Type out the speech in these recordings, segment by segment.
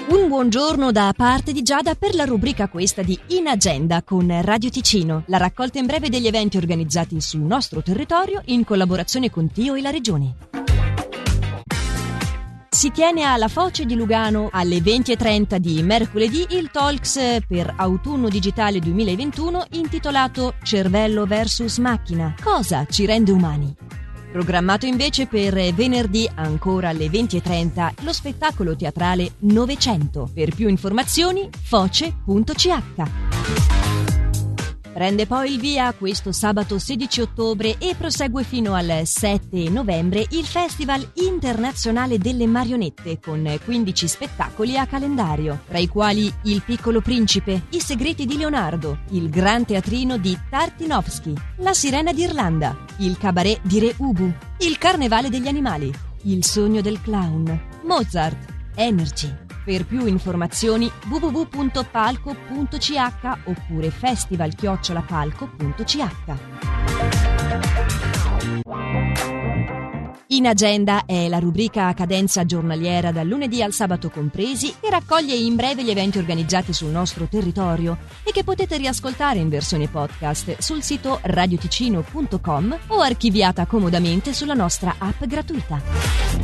Un buongiorno da parte di Giada per la rubrica questa di In Agenda con Radio Ticino, la raccolta in breve degli eventi organizzati sul nostro territorio in collaborazione con Tio e la Regione. Si tiene alla Foce di Lugano alle 20:30 di mercoledì il Talks per Autunno Digitale 2021 intitolato Cervello vs Macchina. Cosa ci rende umani? Programmato invece per venerdì ancora alle 20:30 lo spettacolo teatrale Novecento. Per più informazioni foce.ch. Prende poi il via questo sabato 16 ottobre e prosegue fino al 7 novembre il Festival Internazionale delle Marionette con 15 spettacoli a calendario, tra i quali Il Piccolo Principe, I Segreti di Leonardo, Il Gran Teatrino di Tartinovsky, La Sirena d'Irlanda, Il Cabaret di Re Ubu, Il Carnevale degli Animali, Il Sogno del Clown, Mozart, Energy. Per più informazioni www.palco.ch oppure festival@palco.ch. In Agenda è la rubrica a cadenza giornaliera dal lunedì al sabato compresi che raccoglie in breve gli eventi organizzati sul nostro territorio e che potete riascoltare in versione podcast sul sito radioticino.com o archiviata comodamente sulla nostra app gratuita.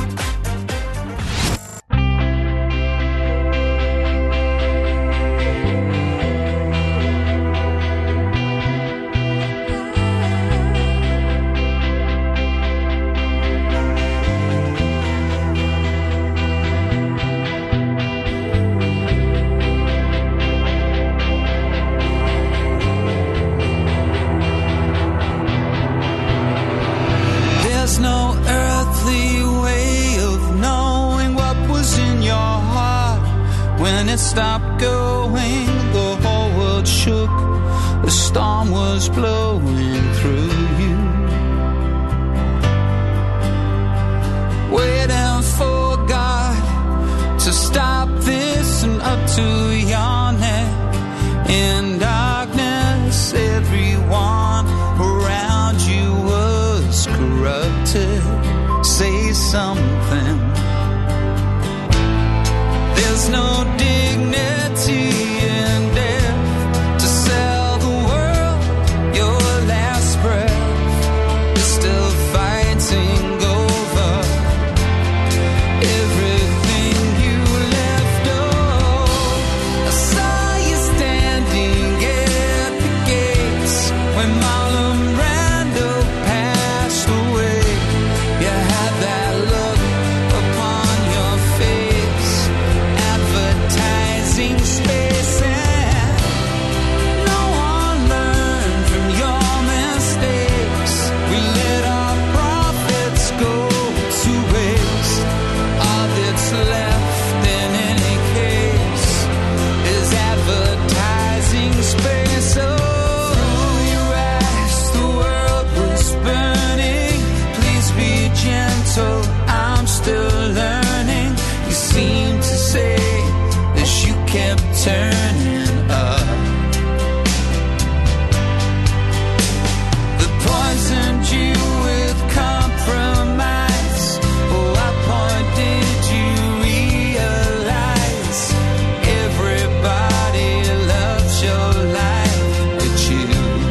There's no earthly way of knowing what was in your heart. When it stopped going, the whole world shook. The storm was blowing through you. Waiting for God to stop this and up to your neck. In darkness, everyone around you was corrupted. Say something. There's no dignity in death to sell the world your last breath. You're still fighting over everything you left. Oh, I saw you standing at the gates when Marlon Brando passed away. You had that look upon your face, advertising space, and no one learned from your mistakes. We let our profits go to waste. All that's left in any case is advertising space. Oh, you asked, the world was burning. Please be gentle, I'm still learning. You seem to say as you kept turning up. They poisoned you with compromise. Oh, what point did you realize? Everybody loves your life but you.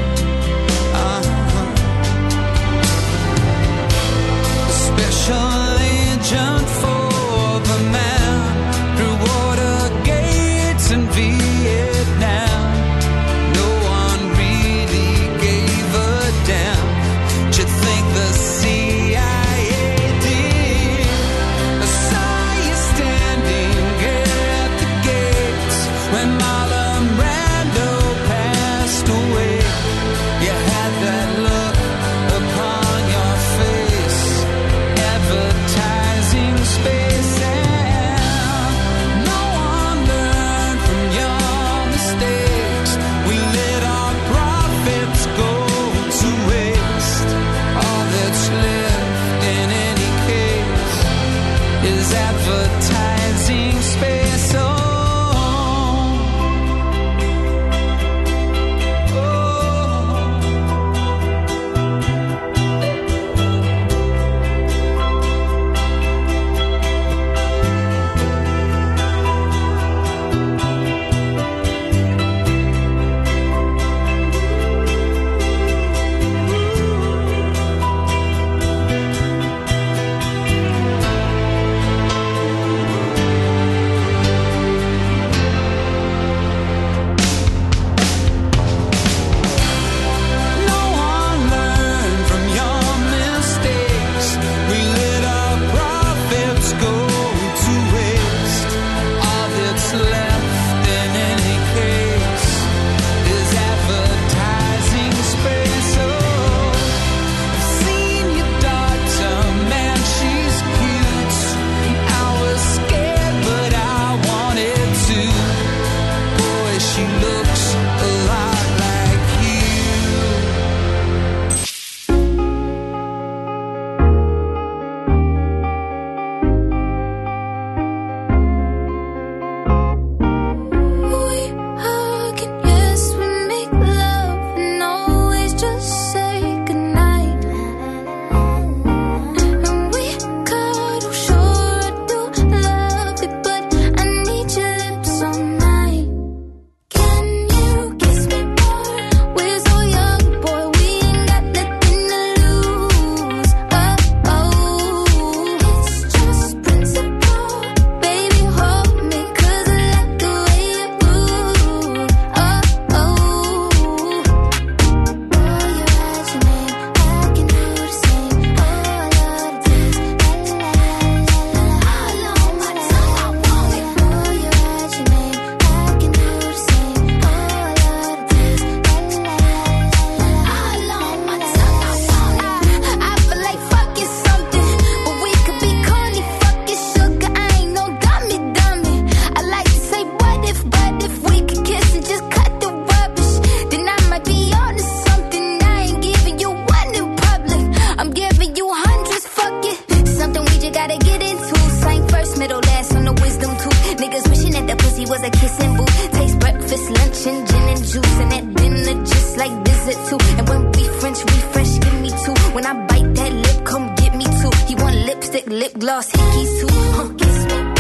A special agent for the man through water gates in Vietnam. No one really gave a damn. Do you think the CIA did? I saw you standing at the gates when Marlon Brando passed away. You had that look upon your face, advertising space, and no one learned from your mistakes. We let our profits go to waste. All that's left in any case is advertising space. Oh, oh. glossy, kiss who, kiss me.